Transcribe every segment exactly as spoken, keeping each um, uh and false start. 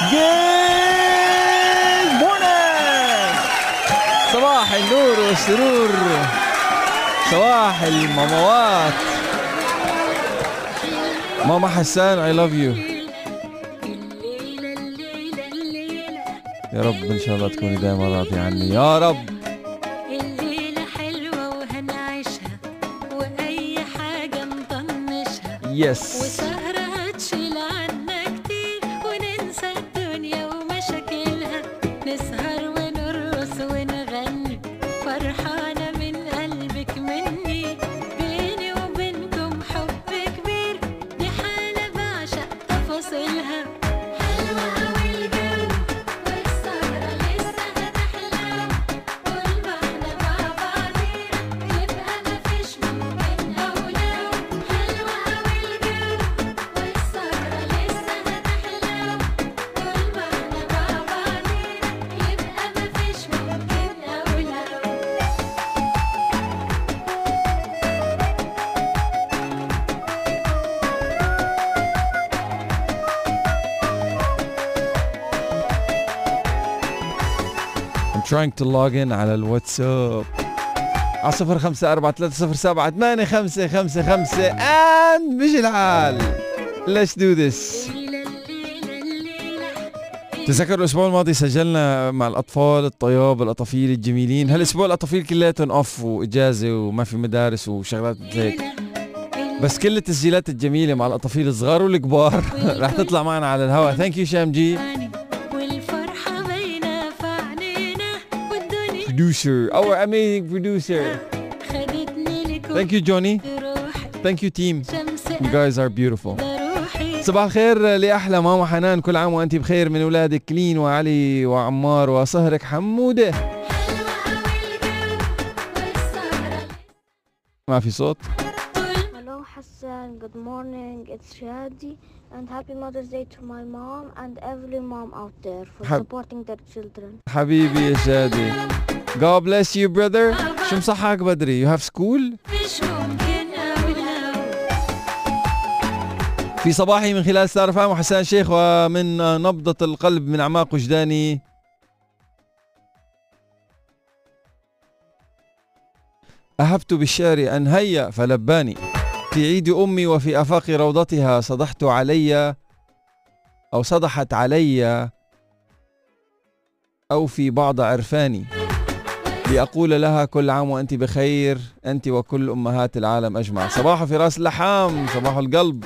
Good morning. صباح النور والسرور، صباح الماموات. ماما حسان I love you. يا رب إن شاء الله تكوني دائما راضية عني يا رب. الليلة حلوة وهنعيشها وأي حاجة نطنشها. يس. وسهرة هتشيل عنا كتير وننسى الدنيا ومشاكلها. نسهر ونرقص ونغني فرحانة من قلبك مني. بيني وبينكم حب كبير، دي حالة بعشق تفاصيلها. حلوة أوي الجو والسهرة لسه هتحلى. طول ما احنا مع بعضينا يبقى مفيش ممكن أو لو. حلوة أوي الجو والسهرة لسه هتحلى. طول ما احنا مع بعضينا يبقى مفيش ممكن أو لو. I'm trying to log in على الواتساب على صفر خمسة أربعة ثلاثة صفر سبعة ثمانية خمسة خمسة خمسة and مش الحال. Let's do this. تذكروا الأسبوع الماضي سجلنا مع الأطفال الطياب الأطفال الجميلين. هالأسبوع الأطفال كلياتهم أوف وإجازة وما في مدارس وشغلات هيك، بس كل التسجيلات الجميلة مع الأطفال الصغار والكبار رح تطلع معنا على الهواء. ثانك يو شامجي والفرحة باينة في عينينا والدنيا producer our amazing producer. خدتني لك Thank you Johnny. روحي. Thank you team. شمس You guys are beautiful. روحي. صباح الخير لأحلى ماما حنان، كل عام وأنت بخير من أولادك كلين وعلي وعمار وصهرك حمودة. ما في صوت. Hello Hassan, good morning, it's Shadi and happy Mother's Day to my mom and every mom out there for حب- supporting their children. حبيبي يا شادي. God bless you brother. شو مصحك بدري؟ You have school؟ مش ممكن أو لو. في صباحي من خلال ستار فام وحسان شيخ ومن نبضة القلب من أعماق وجداني. أهبت بالشعر أن هيا فلباني في عيد أمي وفي آفاق روضتها صدحت علي أو صدحت علي أو في بعض عرفاني لأقول لها كل عام وأنت بخير أنت وكل أمهات العالم أجمع. صباح في راس اللحام، صباح القلب.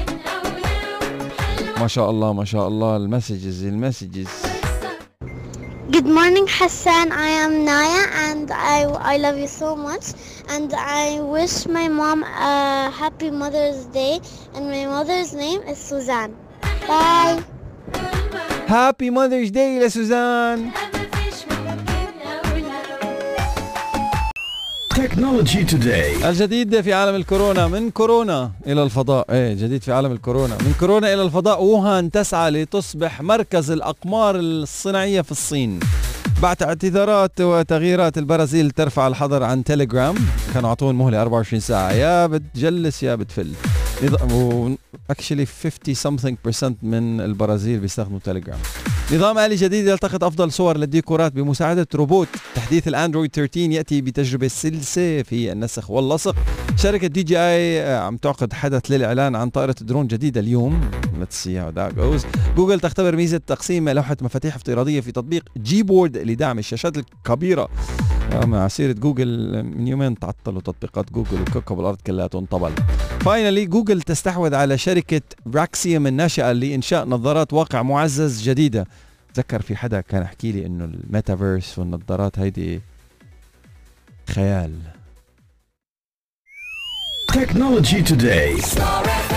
ما شاء الله ما شاء الله المسجز المسجز. Good morning Hassan, I am Naya and I, I love you so much and I wish my mom a happy Mother's Day and my mother's name is Suzanne. Bye. هابي ماذرز داي لسوزان. Technology Today. الجديد في عالم الكورونا، من كورونا إلى الفضاء. ايه جديد في عالم الكورونا، من كورونا إلى الفضاء. ووهان تسعى لتصبح مركز الأقمار الصناعية في الصين بعد اعتذارات وتغييرات. البرازيل ترفع الحظر عن تيليجرام، كانوا عطون مهلة أربعة وعشرين ساعة، يا بتجلس يا بتفل. اكشلي خمسين something percent من البرازيل بيستخدموا تيليجرام. نظام آلي جديد يلتقط أفضل صور للديكورات بمساعدة روبوت. تحديث الأندرويد ثلاثة عشر يأتي بتجربة سلسة في النسخ واللصق. شركة دي جي آي عم تعقد حدث للإعلان عن طائرة درون جديدة اليوم. Let's see how that goes. جوجل تختبر ميزة تقسيم لوحة مفاتيح افتراضية في تطبيق جيبورد لدعم الشاشات الكبيرة. مع سيرة جوجل من يومين تعطلوا تطبيقات جوجل وكوكب الأرض كلها تنطبل. فاينلي جوجل تستحوذ على شركة براكسيوم الناشئة لإنشاء نظارات واقع معزز جديدة. تذكر في حدا كان يحكي لي إنه الميتافيرس والنظارات هيدي خيال. Technology Today.